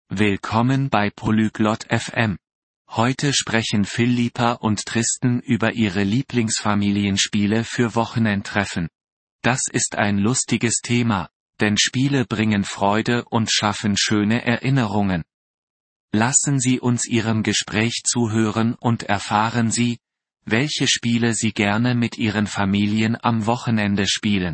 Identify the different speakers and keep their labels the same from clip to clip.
Speaker 1: Willkommen bei Polyglot FM. Heute sprechen Philippa und Tristan über ihre Lieblingsfamilienspiele für Wochenendtreffen. Das ist ein lustiges Thema, denn Spiele bringen Freude und schaffen schöne Erinnerungen. Lassen Sie uns Ihrem Gespräch zuhören und erfahren Sie, welche Spiele Sie gerne mit Ihren Familien am Wochenende spielen.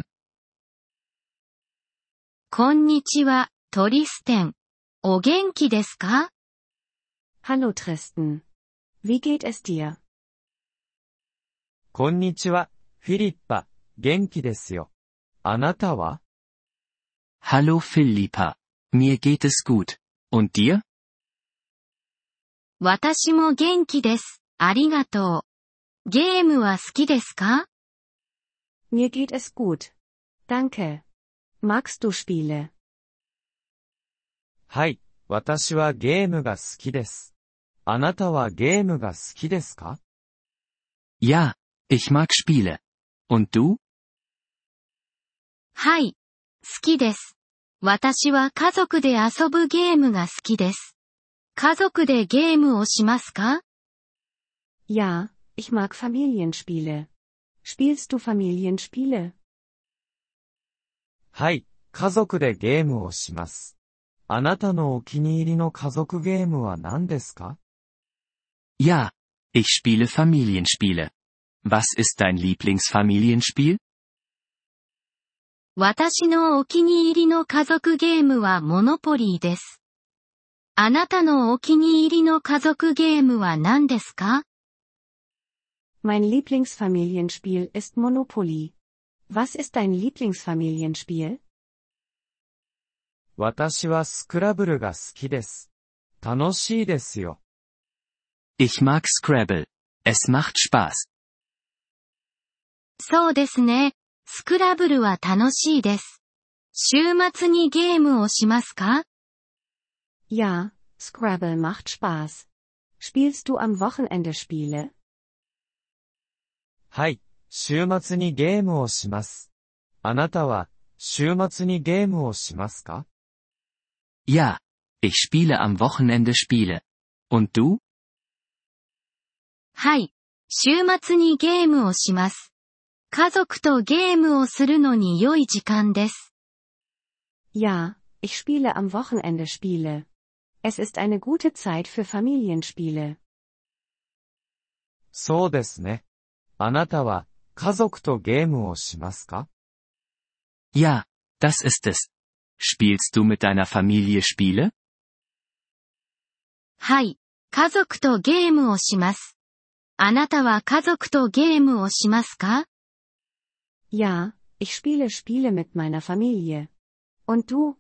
Speaker 2: こんにちは、トリステン。お元気ですか?
Speaker 3: Hallo Tristan. Wie geht es dir?
Speaker 4: こんにちは、フィリッパ。元気ですよ。あなたは?
Speaker 1: Hallo Philippa. Mir geht es gut. Und dir?
Speaker 2: 私も元気です。ありがとう。ゲームは好きですか?
Speaker 3: Mir geht es gut. Danke. Magst du Spiele?
Speaker 4: はい、私はゲームが好きです。あなたはゲームが好きですか?
Speaker 1: Ja, ich mag Spiele. Und du?
Speaker 2: はい、好きです。私は家族で遊ぶゲームが好きです。家族でゲームをしますか?
Speaker 3: Ja, ich mag Familienspiele. Spielst du Familienspiele?
Speaker 4: はい、家族でゲームをします。あなたのお気に入りの家族ゲームは何ですか?
Speaker 1: Ja, ich spiele Familienspiele. Was ist dein Lieblingsfamilienspiel?
Speaker 2: 私のお気に入りの家族ゲームはモノポリーです。あなたのお気に入りの家族ゲームは何ですか?
Speaker 3: Mein Lieblingsfamilienspiel ist Monopoly. Was ist dein Lieblingsfamilienspiel?
Speaker 4: 私はスクラブルが好きです。楽しいですよ。
Speaker 1: Ich mag Scrabble. Es macht Spaß.
Speaker 2: そうですね。スクラブルは楽しいです。週末にゲームをしますか?
Speaker 3: Ja, Scrabble macht Spaß. Spielst du am Wochenende Spiele?
Speaker 4: はい、週末にゲームをします。あなたは、週末にゲームをしますか?
Speaker 1: Ja, ich spiele am Wochenende Spiele. Und du?
Speaker 2: はい、週末にゲームをします。家族とゲームをするのに良い時間です。
Speaker 3: Ja, ich spiele am Wochenende Spiele. Es ist eine gute Zeit für Familienspiele.
Speaker 4: そうですね。あなたは、家族とゲームをしますか?
Speaker 1: Ja, das ist es. Spielst du mit deiner Familie Spiele?
Speaker 2: はい、家族とゲームをします。あなたは家族とゲームをしますか?
Speaker 3: Ja, ich spiele Spiele mit meiner Familie. Und du?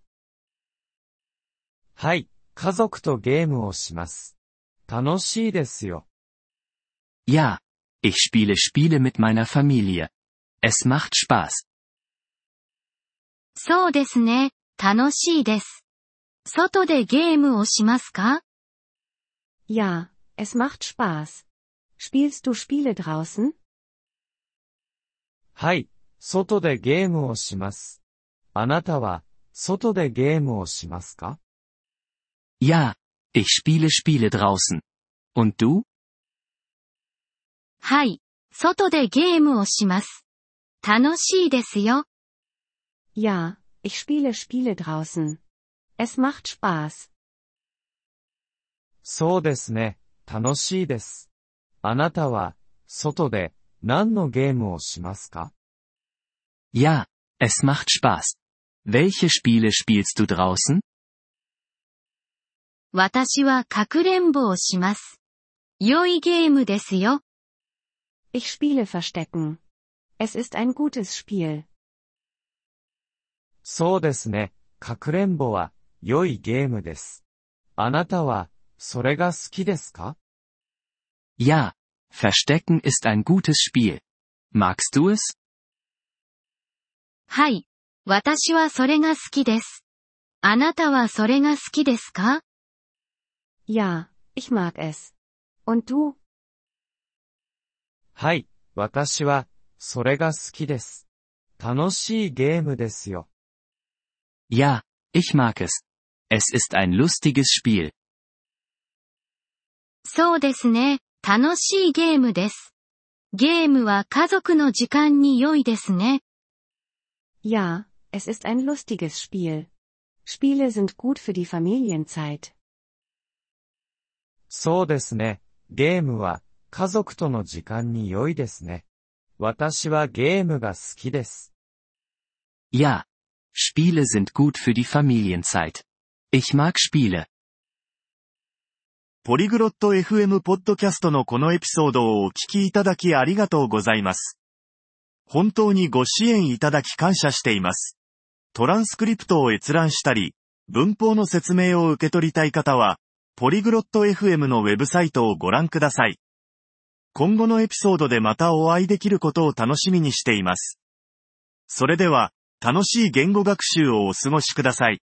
Speaker 4: はい、家族とゲームをします。楽しいですよ。
Speaker 1: Ja, ich spiele Spiele mit meiner Familie. Es macht Spaß.
Speaker 2: そうですね、楽しいです。外でゲームをしますか?
Speaker 3: Ja, es macht Spaß. Spielst du Spiele draußen?
Speaker 4: はい、外でゲームをします。あなたは、外でゲームをしますか?
Speaker 1: Ja, ich spiele Spiele draußen. Und du?
Speaker 2: はい、外でゲームをします。楽しいですよ。
Speaker 3: Ja, ich spiele Spiele draußen. Es macht Spaß.
Speaker 4: そうですね、楽しいです。あなたは、外で、何のゲームをしますか?
Speaker 1: Ja, es macht Spaß. Welche Spiele spielst du draußen?
Speaker 2: 私はかくれんぼをします。良いゲームですよ。
Speaker 3: Ich spiele Verstecken. Es ist ein gutes Spiel.
Speaker 4: そうですね、かくれんぼは、良いゲームです。あなたは、それが好きですか?
Speaker 1: Ja, Verstecken ist ein gutes Spiel. Magst du es?
Speaker 2: はい、私はそれが好きです。あなたはそれが好きですか?
Speaker 3: Ja, ich mag es. Und du?
Speaker 4: はい、私は、それが好きです。楽しいゲームですよ。
Speaker 1: Ja, ich mag es. Es ist ein lustiges Spiel.
Speaker 2: そうですね。楽しいゲームです。ゲームは家族の時間に良いですね。
Speaker 3: Ja, es ist ein lustiges Spiel. Spiele sind gut für die Familienzeit.
Speaker 4: そうですね。ゲームは家族との時間に良いですね。私はゲームが好きです。
Speaker 1: Ja. Spiele sind gut für die Familienzeit. Ich mag Spiele.
Speaker 5: ポリグロット FM ポッドキャストのこのエピソードをお聞きいただきありがとうございます。本当にご支援いただき感謝しています。トランスクリプトを閲覧したり、文法の説明を受け取りたい方は、ポリグロット FM のウェブサイトをご覧ください。今後のエピソードでまたお会いできることを楽しみにしています。それでは、楽しい言語学習をお過ごしください。